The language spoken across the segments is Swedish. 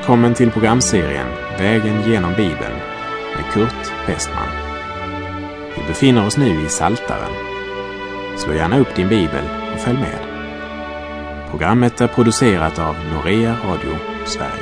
Välkommen till programserien Vägen genom Bibeln med Kurt Westman. Vi befinner oss nu i Psaltaren. Slå gärna upp din bibel och följ med. Programmet är producerat av Norea Radio Sverige.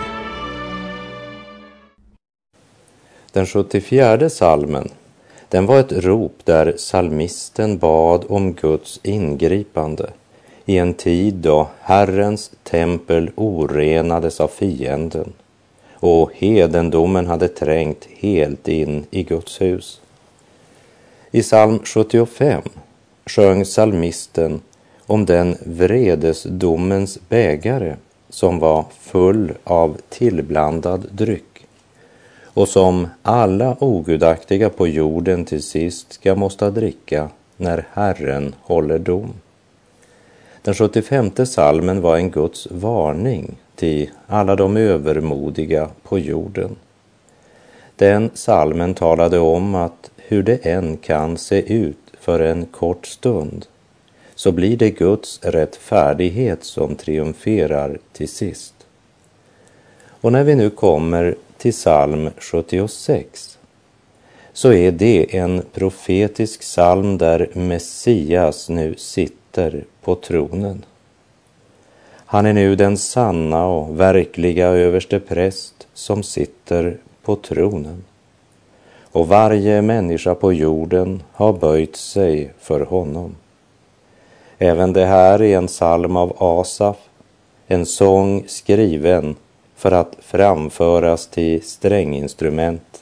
Den 74:e psalmen, den var ett rop där psalmisten bad om Guds ingripande i en tid då Herrens tempel orenades av fienden och hedendomen hade trängt helt in i Guds hus. I psalm 75 sjöng psalmisten om den vredesdomens bägare som var full av tillblandad dryck och som alla ogudaktiga på jorden till sist ska måste dricka när Herren håller dom. Den 75:e psalmen var en Guds varning till alla de övermodiga på jorden. Den psalmen talade om att hur det än kan se ut för en kort stund, så blir det Guds rättfärdighet som triumferar till sist. Och när vi nu kommer till psalm 76, så är det en profetisk psalm där Messias nu sitter på tronen. Han är nu den sanna och verkliga överste präst som sitter på tronen. Och varje människa på jorden har böjt sig för honom. Även det här är en psalm av Asaf, en sång skriven för att framföras till stränginstrument.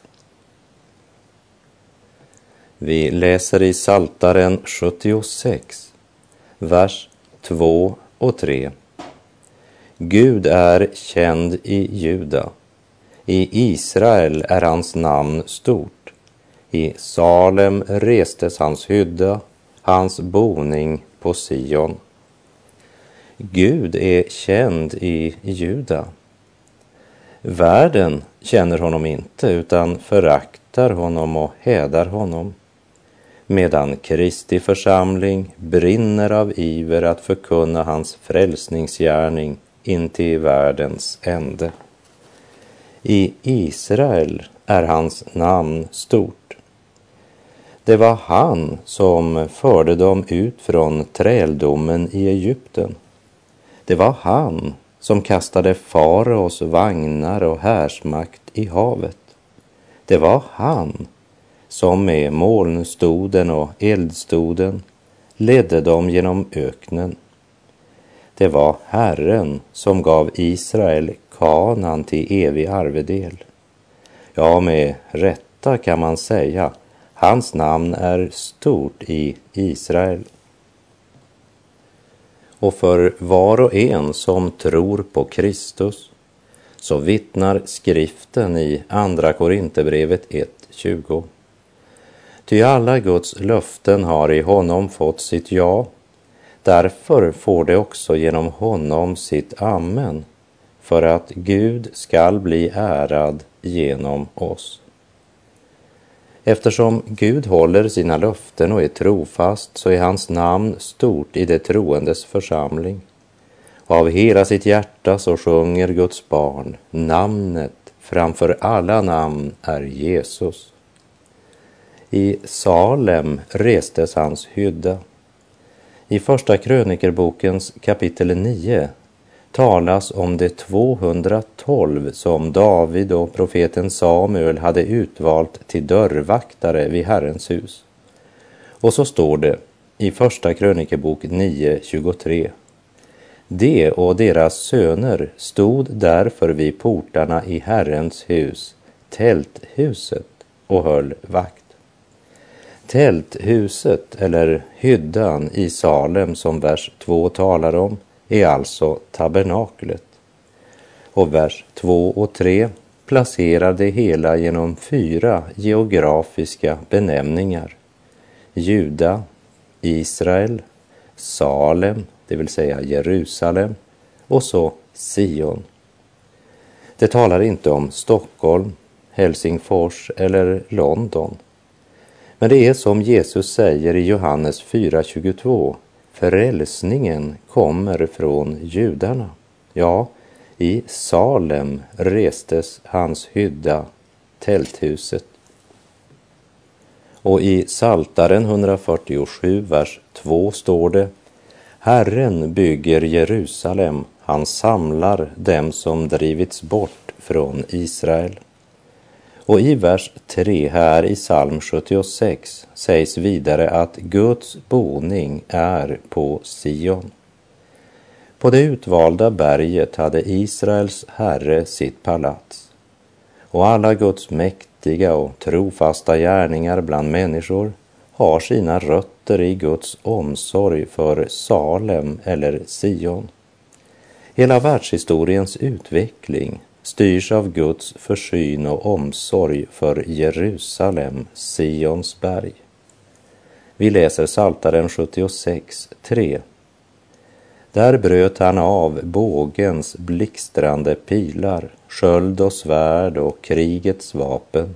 Vi läser i Psaltaren 76, vers 2 och 3. Gud är känd i Juda. I Israel är hans namn stort. I Salem restes hans hydda, hans boning på Sion. Gud är känd i Juda. Världen känner honom inte utan föraktar honom och hädar honom, medan Kristi församling brinner av iver att förkunna hans frälsningsgärning in till världens ände. I Israel är hans namn stort. Det var han som förde dem ut från träldomen i Egypten. Det var han som kastade faraos vagnar och härsmakt i havet. Det var han som med molnstoden och eldstoden ledde dem genom öknen. Det var Herren som gav Israel Kanaan till evig arvedel. Ja, med rätta kan man säga, hans namn är stort i Israel. Och för var och en som tror på Kristus, så vittnar skriften i Andra Korinthierbrevet 1:20. Ty alla Guds löften har i honom fått sitt ja. Därför får det också genom honom sitt amen, för att Gud skall bli ärad genom oss. Eftersom Gud håller sina löften och är trofast, så är hans namn stort i det troendes församling. Och av hela sitt hjärta så sjunger Guds barn, namnet framför alla namn är Jesus. I Salem restes hans hydda. I första krönikerbokens kapitel 9 talas om de 212 som David och profeten Samuel hade utvalt till dörrvaktare vid Herrens hus. Och så står det i första krönikebok 9:23. De och deras söner stod därför vid portarna i Herrens hus, tälthuset, och höll vakt. Tälthuset eller hyddan i Salem som vers 2 talar om är alltså tabernaklet. Och vers 2 och 3 placerar det hela genom 4 geografiska benämningar. Juda, Israel, Salem, det vill säga Jerusalem, och så Sion. Det talar inte om Stockholm, Helsingfors eller London. Men det är som Jesus säger i Johannes 4:22, frälsningen kommer från judarna. Ja, I Salem restes hans hydda, tälthuset. Och i Psaltaren 147, vers 2 står det: Herren bygger Jerusalem, han samlar dem som drivits bort från Israel. Och i vers 3 här i psalm 76 sägs vidare att Guds boning är på Sion. På det utvalda berget hade Israels herre sitt palats. Och alla Guds mäktiga och trofasta gärningar bland människor har sina rötter i Guds omsorg för Salem eller Sion. Hela världshistoriens utveckling styrs av Guds försyn och omsorg för Jerusalem, Sions berg. Vi läser Psaltaren 76, 3. Där bröt han av bågens blixtrande pilar, sköld och svärd och krigets vapen.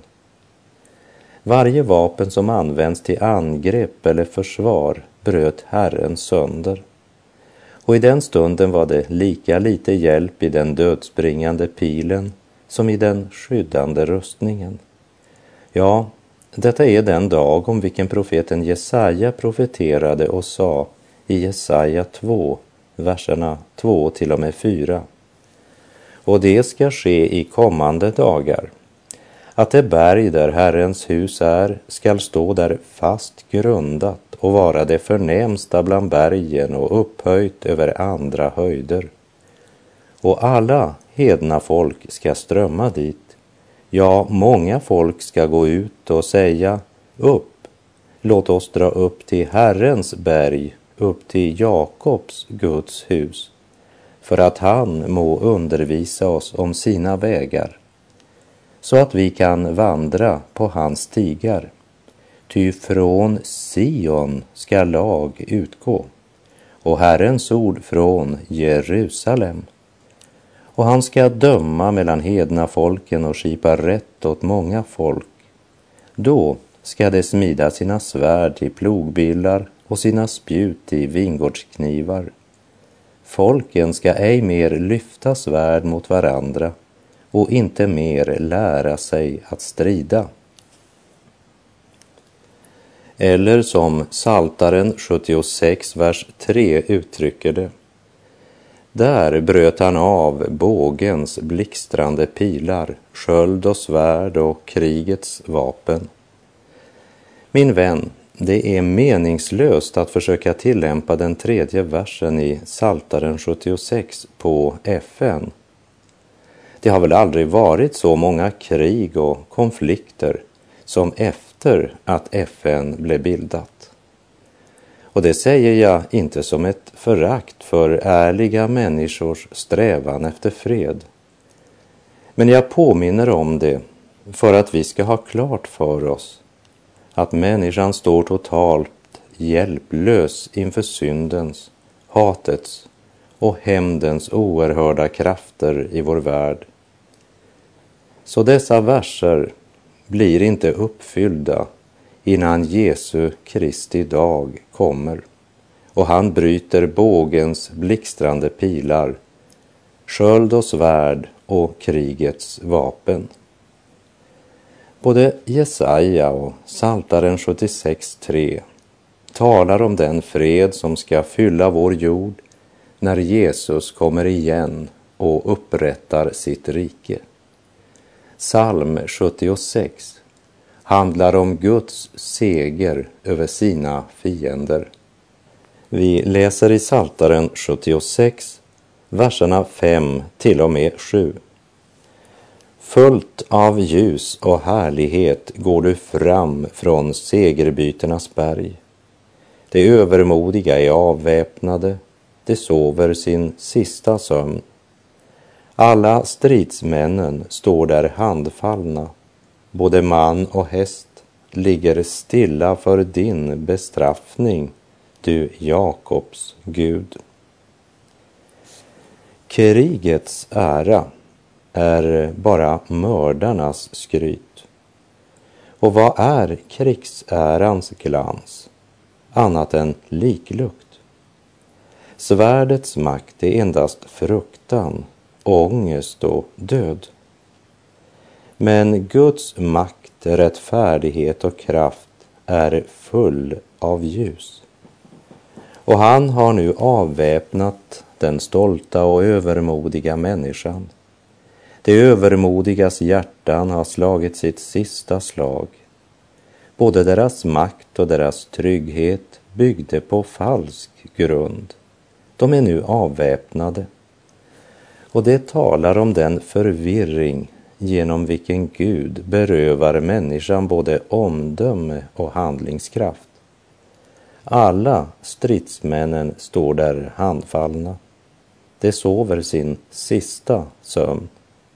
Varje vapen som används till angrepp eller försvar bröt Herren sönder. Och i den stunden var det lika lite hjälp i den dödsbringande pilen som i den skyddande rustningen. Ja, detta är den dag om vilken profeten Jesaja profeterade och sa i Jesaja 2, verserna 2 till och med 4. Och det ska ske i kommande dagar, att det berg där Herrens hus är skall stå där fast grundat och vara det förnämsta bland bergen och upphöjt över andra höjder. Och alla hedna folk ska strömma dit. Ja, många folk ska gå ut och säga: upp, låt oss dra upp till Herrens berg, upp till Jakobs Guds hus, för att han må undervisa oss om sina vägar, så att vi kan vandra på hans stigar. Ty från Sion ska lag utgå, och Herrens ord från Jerusalem. Och han ska döma mellan hedna folken och skipa rätt åt många folk. Då ska de smida sina svärd till plogbillar och sina spjut till vingårdsknivar. Folken ska ej mer lyfta svärd mot varandra och inte mer lära sig att strida. Eller som Psaltaren 76, vers 3 uttrycker det: där bröt han av bågens blixtrande pilar, sköld och svärd och krigets vapen. Min vän, det är meningslöst att försöka tillämpa den 3:e versen i Psaltaren 76 på FN. Det har väl aldrig varit så många krig och konflikter som efter att FN blev bildat. Och det säger jag inte som ett förakt för ärliga människors strävan efter fred. Men jag påminner om det för att vi ska ha klart för oss att människan står totalt hjälplös inför syndens, hatets och hämndens oerhörda krafter i vår värld. Så dessa verser blir inte uppfyllda innan Jesu Kristi dag kommer och han bryter bågens blixtrande pilar, sköld och svärd och krigets vapen. Både Jesaja och Psaltaren 76:3 talar om den fred som ska fylla vår jord när Jesus kommer igen och upprättar sitt rike. Psalm 76 handlar om Guds seger över sina fiender. Vi läser i Psaltaren 76, verserna 5 till och med 7. Fullt av ljus och härlighet går du fram från segerbyternas berg. De övermodiga är avväpnade, de sover sin sista sömn. Alla stridsmännen står där handfallna, både man och häst ligger stilla för din bestraffning, du Jakobs Gud. Krigets ära är bara mördarnas skryt. Och vad är krigsärans glans annat än liklukt? Svärdets makt är endast fruktan ångest och död. Men Guds makt, rättfärdighet och kraft är full av ljus. Och han har nu avväpnat den stolta och övermodiga människan. De övermodigas hjärtan har slagit sitt sista slag. Både deras makt och deras trygghet byggde på falsk grund. De är nu avväpnade. Och det talar om den förvirring genom vilken Gud berövar människan både omdöme och handlingskraft. Alla stridsmännen står där handfallna. De sover sin sista sömn.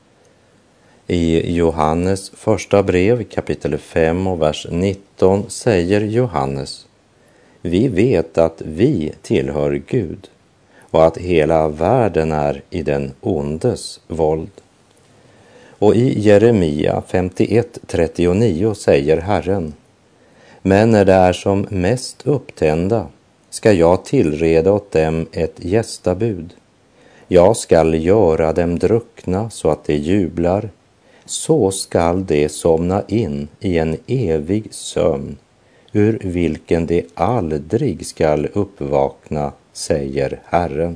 I Johannes första brev kapitel 5 och vers 19 säger Johannes: vi vet att vi tillhör Gud och att hela världen är i den ondes våld. Och i Jeremia 51:39 säger Herren: men när det är som mest upptända ska jag tillreda åt dem ett gästabud. Jag skall göra dem druckna så att de jublar. Så skall de somna in i en evig sömn, ur vilken de aldrig skall uppvakna, säger Herren.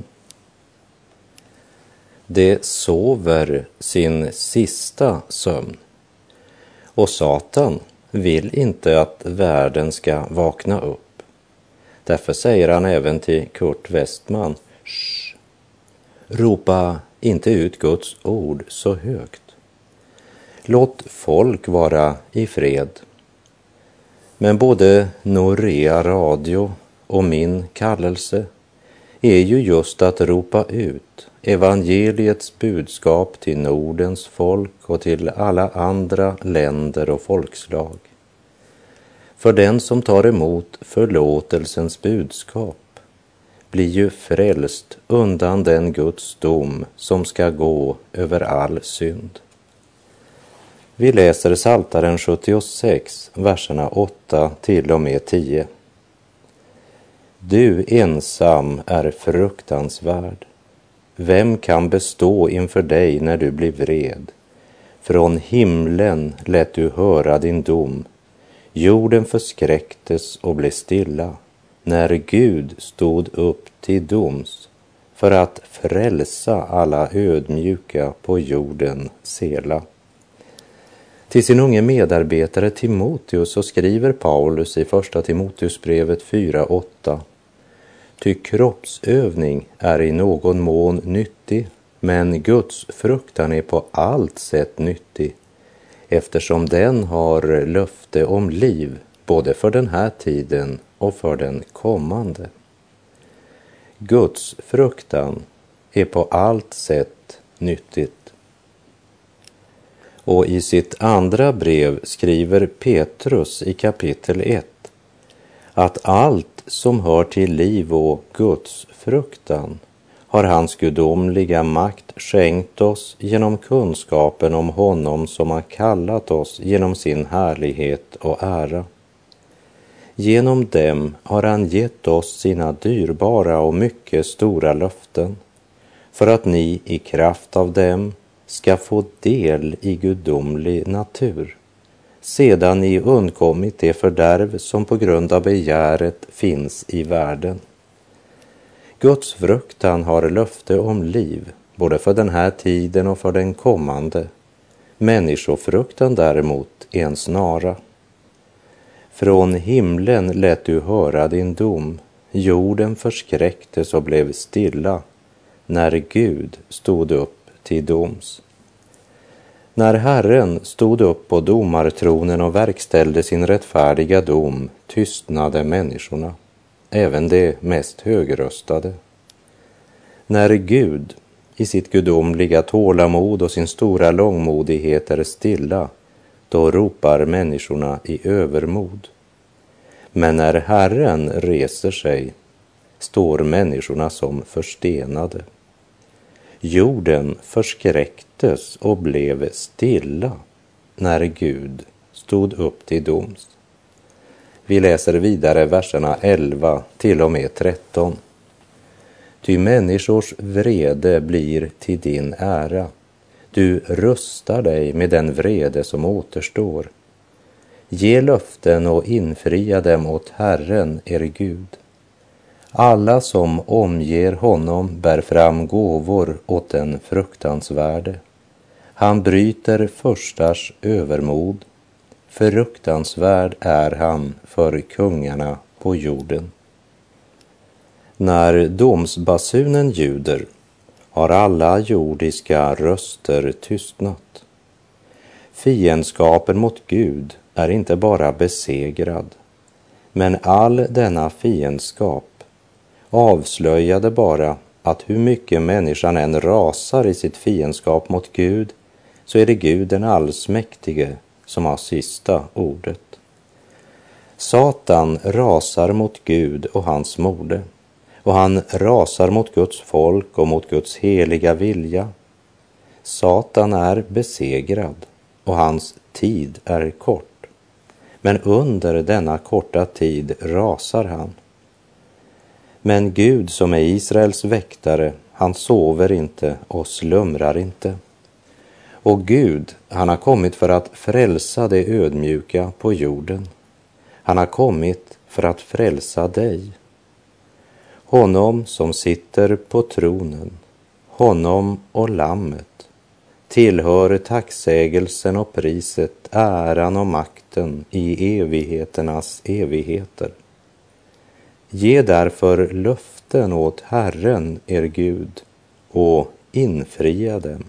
De sover sin sista sömn. Och Satan vill inte att världen ska vakna upp. Därför säger han även till Kurt Westman: shh, ropa inte ut Guds ord så högt. Låt folk vara i fred. Men både Norea Radio och min kallelse är ju just att ropa ut evangeliets budskap till Nordens folk och till alla andra länder och folkslag. För den som tar emot förlåtelsens budskap blir ju frälst undan den Guds dom som ska gå över all synd. Vi läser Psaltaren 76, verserna 8 till och med 10. Du ensam är fruktansvärd. Vem kan bestå inför dig när du blir vred? Från himlen lät du höra din dom. Jorden förskräcktes och blev stilla, när Gud stod upp till doms för att frälsa alla ödmjuka på jorden sela. Till sin unge medarbetare Timoteus så skriver Paulus i första Timoteusbrevet 4:8. Ty kroppsövning är i någon mån nyttig, men Guds fruktan är på allt sätt nyttig, eftersom den har löfte om liv både för den här tiden och för den kommande. Guds fruktan är på allt sätt nyttigt. Och i sitt andra brev skriver Petrus i kapitel 1 att allt som hör till liv och Guds fruktan har hans gudomliga makt skänkt oss genom kunskapen om honom som har kallat oss genom sin härlighet och ära. Genom dem har han gett oss sina dyrbara och mycket stora löften, för att ni i kraft av dem ska få del i gudomlig natur, sedan ni undkommit det fördärv som på grund av begäret finns i världen. Guds fruktan har löfte om liv, både för den här tiden och för den kommande. Människofruktan däremot är en snara. Från himlen lät du höra din dom. Jorden förskräcktes och blev stilla, när Gud stod upp till doms. När Herren stod upp på domartronen och verkställde sin rättfärdiga dom, tystnade människorna, även de mest högröstade. När Gud i sitt gudomliga tålamod och sin stora långmodighet är stilla, då ropar människorna i övermod. Men när Herren reser sig, står människorna som förstenade. Jorden förskräcktes och blev stilla när Gud stod upp till doms. Vi läser vidare verserna 11 till och med 13. ty människors vrede blir till din ära. Du rustar dig med den vrede som återstår. Ge löften och infria dem åt Herren, er Gud. Alla som omger honom bär fram gåvor åt den fruktansvärde. Han bryter förstars övermod. Fruktansvärd är han för kungarna på jorden. När domsbasunen ljuder har alla jordiska röster tystnat. Fiendskapen mot Gud är inte bara besegrad, men all denna fiendskap avslöjade bara att hur mycket människan än rasar i sitt fiendskap mot Gud, så är det Gud den allsmäktige som har sista ordet. Satan rasar mot Gud och hans mode, och han rasar mot Guds folk och mot Guds heliga vilja. Satan är besegrad och hans tid är kort, men under denna korta tid rasar han. Men Gud som är Israels väktare, han sover inte och slumrar inte. Och Gud, han har kommit för att frälsa det ödmjuka på jorden. Han har kommit för att frälsa dig. Honom som sitter på tronen, honom och lammet, tillhör tacksägelsen och priset, äran och makten i evigheternas evigheter. Ge därför löften åt Herren, er Gud, och infria dem.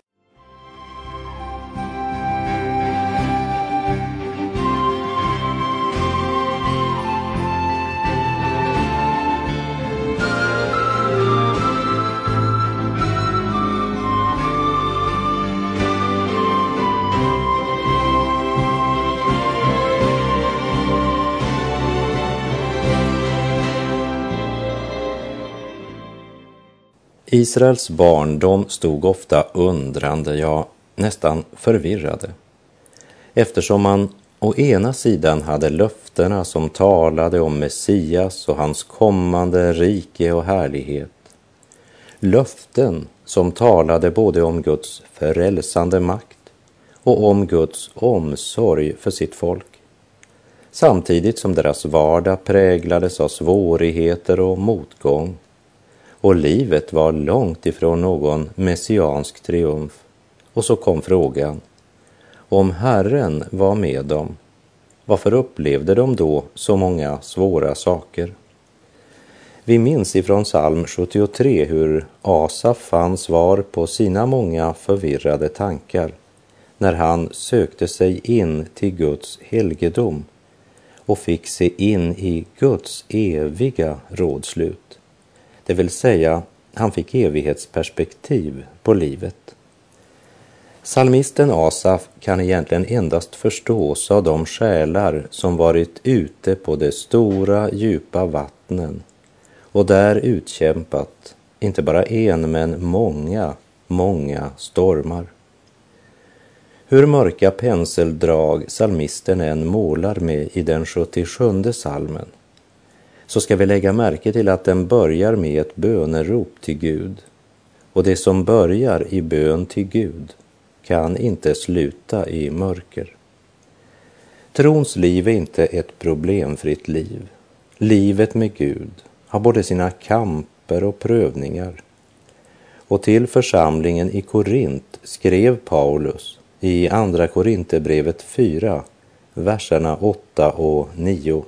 Israels barn, de stod ofta undrande, ja nästan förvirrade, eftersom man å ena sidan hade löftena som talade om Messias och hans kommande rike och härlighet. Löften som talade både om Guds frälsande makt och om Guds omsorg för sitt folk. Samtidigt som deras vardag präglades av svårigheter och motgång. Och livet var långt ifrån någon messiansk triumf. Och så kom frågan: om Herren var med dem, varför upplevde de då så många svåra saker? Vi minns ifrån psalm 73 hur Asaf fann svar på sina många förvirrade tankar när han sökte sig in till Guds helgedom och fick se in i Guds eviga rådslut. Det vill säga, han fick evighetsperspektiv på livet. Psalmisten Asaf kan egentligen endast förstås av de själar som varit ute på de stora, djupa vattnen och där utkämpat inte bara en men många stormar. Hur mörka penseldrag psalmisten än målar med i den 77:e psalmen, så ska vi lägga märke till att den börjar med ett bönerop till Gud. Och det som börjar i bön till Gud kan inte sluta i mörker. Trons liv är inte ett problemfritt liv. Livet med Gud har både sina kamper och prövningar. Och till församlingen i Korint skrev Paulus i andra Korinthierbrevet 4, verserna 8 och 9.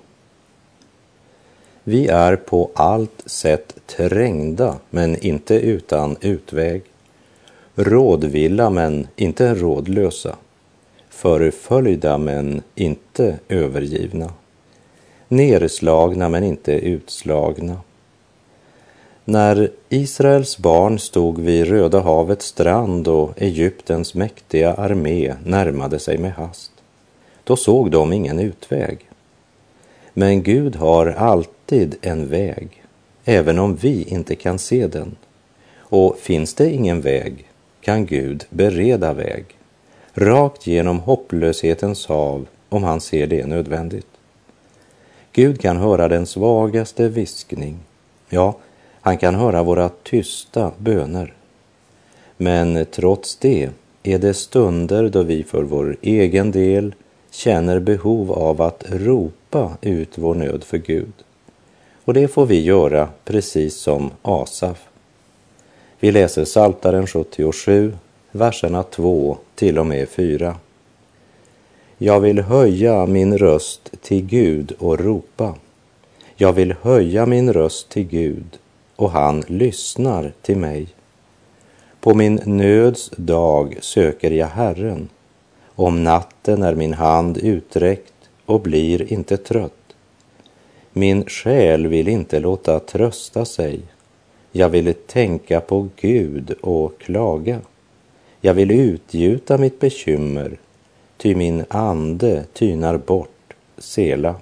Vi är på allt sätt trängda, men inte utan utväg. Rådvilla, men inte rådlösa. Förföljda, men inte övergivna. Nerslagna, men inte utslagna. När Israels barn stod vid Röda havets strand och Egyptens mäktiga armé närmade sig med hast, då såg de ingen utväg. Men Gud har alltid en väg, även om vi inte kan se den. Och finns det ingen väg, kan Gud bereda väg, rakt genom hopplöshetens hav, om han ser det nödvändigt. Gud kan höra den svagaste viskning. Ja, Han kan höra våra tysta böner. Men trots det är det stunder då vi för vår egen del känner behov av att ropa ut vår nöd för Gud. Och det får vi göra precis som Asaf. Vi läser Psaltaren 77, verserna 2 till och med 4. Jag vill höja min röst till Gud och ropa. Jag vill höja min röst till Gud och han lyssnar till mig. På min nöds dag söker jag Herren. Om natten är min hand uträckt och blir inte trött. Min själ vill inte låta trösta sig. Jag vill tänka på Gud och klaga. Jag vill utgjuta mitt bekymmer, ty min ande tynar bort, Sela.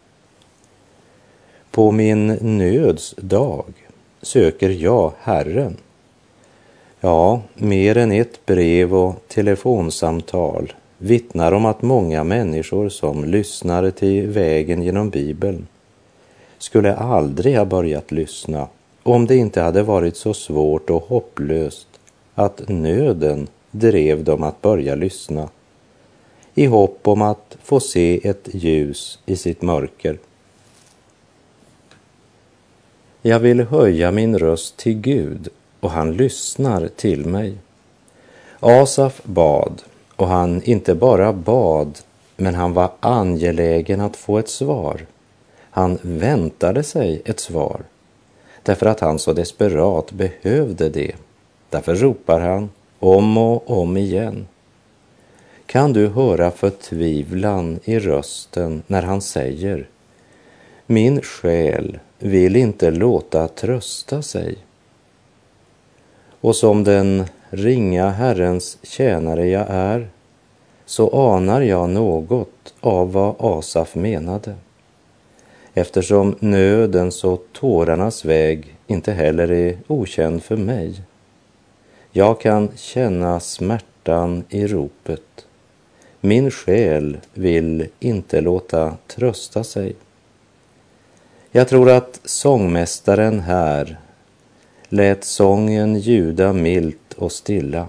På min nöds dag söker jag Herren. Ja, mer än ett brev och telefonsamtal vittnar om att många människor som lyssnar till Vägen genom Bibeln skulle aldrig ha börjat lyssna om det inte hade varit så svårt och hopplöst att nöden drev dem att börja lyssna i hopp om att få se ett ljus i sitt mörker. Jag vill höja min röst till Gud och han lyssnar till mig. Asaf bad och han inte bara bad, men han var angelägen att få ett svar. Han väntade sig ett svar därför att han så desperat behövde det. Därför ropar han om och om igen. Kan du höra förtvivlan i rösten när han säger: min själ vill inte låta trösta sig. Och som den ringa Herrens tjänare jag är, så anar jag något av vad Asaf menade. Eftersom nödens och tårarnas väg inte heller är okänd för mig. Jag kan känna smärtan i ropet. Min själ vill inte låta trösta sig. Jag tror att sångmästaren här lät sången ljuda milt och stilla.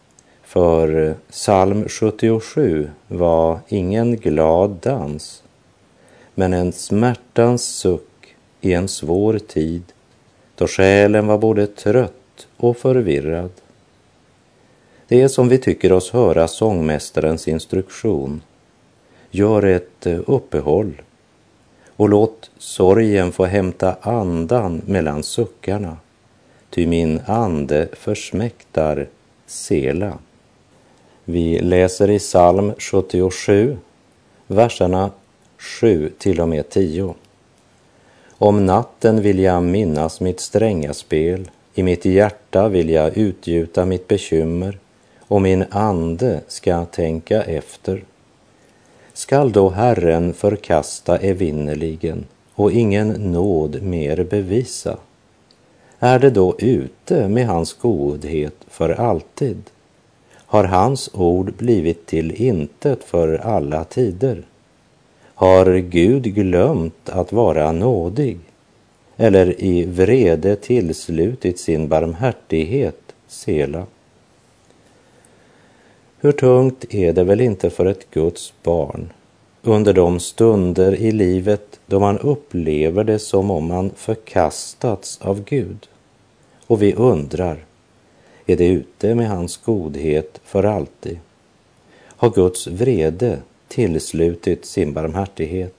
För psalm 77 var ingen glad dans, men en smärtans suck i en svår tid, då själen var både trött och förvirrad. Det är som vi tycker oss höra sångmästarens instruktion. Gör ett uppehåll och låt sorgen få hämta andan mellan suckarna, ty min ande försmäktar, Sela. Vi läser i psalm 77, verserna 7 till och med 10. Om natten vill jag minnas mitt stränga spel, i mitt hjärta vill jag utgjuta mitt bekymmer, och min ande ska tänka efter. Skall då Herren förkasta evinnerligen och ingen nåd mer bevisa? Är det då ute med hans godhet för alltid? Har hans ord blivit till intet för alla tider? Har Gud glömt att vara nådig? Eller i vrede tillslutit sin barmhärtighet, Sela? Hur tungt är det väl inte för ett Guds barn under de stunder i livet då man upplever det som om man förkastats av Gud. Och vi undrar, är det ute med hans godhet för alltid? Har Guds vrede tillslutit sin barmhärtighet?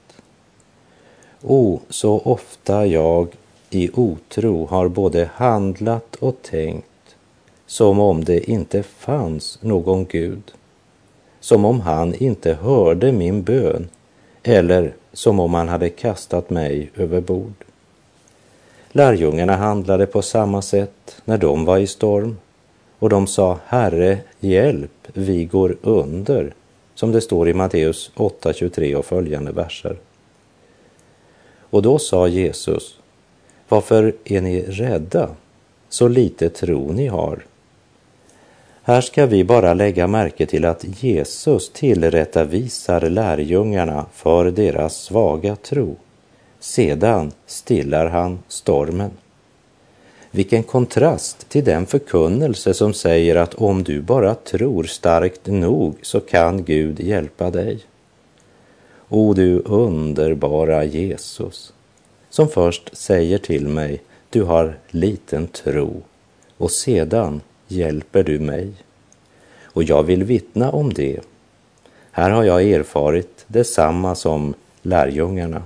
Så ofta jag i otro har både handlat och tänkt som om det inte fanns någon Gud, som om han inte hörde min bön eller som om han hade kastat mig över bord. Lärjungarna handlade på samma sätt när de var i storm, och de sa: Herre, hjälp, vi går under, som det står i Matteus 8:23 och följande verser. Och då sa Jesus: varför är ni rädda? Så lite tro ni har. Här ska vi bara lägga märke till att Jesus tillrättavisar lärjungarna för deras svaga tro. Sedan stillar han stormen. Vilken kontrast till den förkunnelse som säger att om du bara tror starkt nog så kan Gud hjälpa dig. O du underbara Jesus, som först säger till mig, du har liten tro, och sedan hjälper du mig. Och jag vill vittna om det. Här har jag erfarit detsamma som lärjungarna.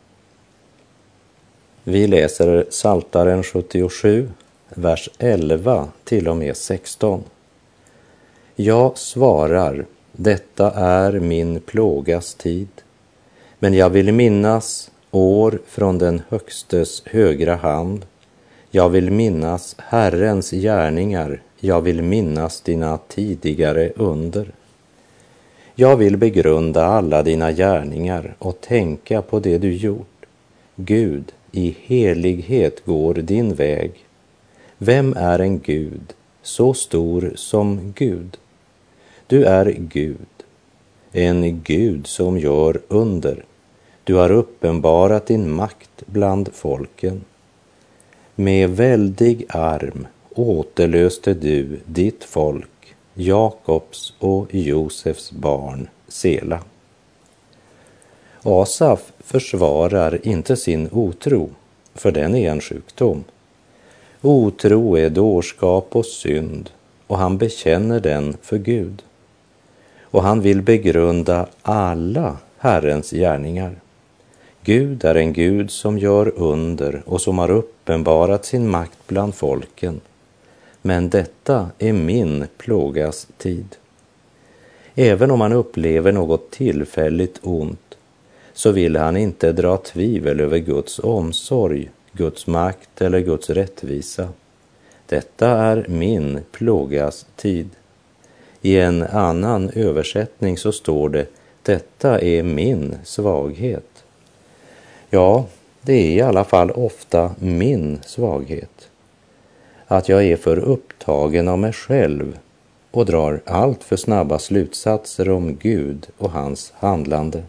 Vi läser Psaltaren 77, vers 11 till och med 16. Jag svarar, detta är min plågas tid, men jag vill minnas år från den högstes högra hand. Jag vill minnas Herrens gärningar, jag vill minnas dina tidigare under. Jag vill begrunda alla dina gärningar och tänka på det du gjort. Gud, i helighet går din väg. Vem är en Gud så stor som Gud? Du är Gud, en Gud som gör under. Du har uppenbarat din makt bland folken. Med väldig arm återlöste du ditt folk, Jakobs och Josefs barn, Sela. Asaf försvarar inte sin otro, för den är en sjukdom. Otro är dårskap och synd, och han bekänner den för Gud. Och han vill begrunda alla Herrens gärningar. Gud är en Gud som gör under och som har uppenbarat sin makt bland folken. Men detta är min plågas tid. Även om han upplever något tillfälligt ont, så vill han inte dra tvivel över Guds omsorg, Guds makt eller Guds rättvisa. Detta är min plågas tid. I en annan översättning så står det, detta är min svaghet. Ja, det är i alla fall ofta min svaghet. Att jag är för upptagen av mig själv och drar allt för snabba slutsatser om Gud och hans handlande.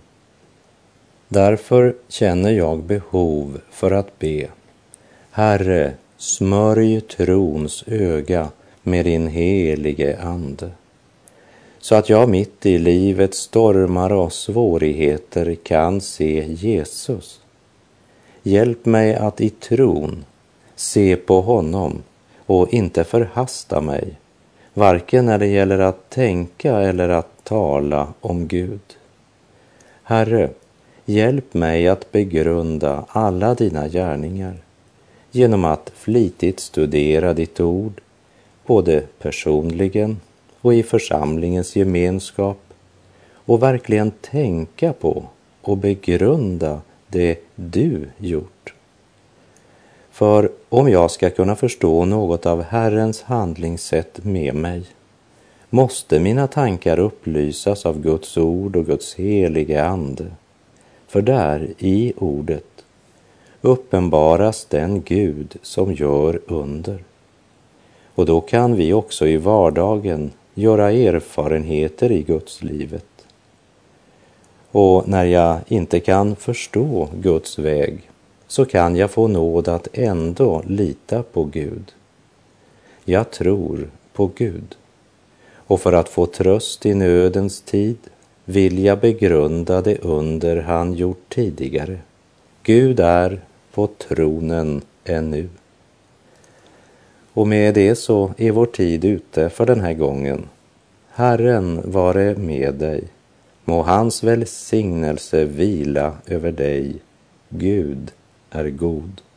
Därför känner jag behov för att be. Herre, smörj trons öga med din helige ande, så att jag mitt i livets stormar och svårigheter kan se Jesus. Hjälp mig att i tron se på honom och inte förhasta mig, varken när det gäller att tänka eller att tala om Gud. Herre, hjälp mig att begrunda alla dina gärningar genom att flitigt studera ditt ord, både personligen och i församlingens gemenskap, och verkligen tänka på och begrunda det du gjort. För om jag ska kunna förstå något av Herrens handlingssätt med mig, måste mina tankar upplysas av Guds ord och Guds helige ande. För där i ordet uppenbaras den Gud som gör under. Och då kan vi också i vardagen göra erfarenheter i Guds livet. Och när jag inte kan förstå Guds väg, så kan jag få nåd att ändå lita på Gud. Jag tror på Gud. Och för att få tröst i nödens tid vill jag begrunda det under han gjort tidigare. Gud är på tronen ännu. Och med det så är vår tid ute för den här gången. Herren vare med dig. Må hans välsignelse vila över dig. Gud är god.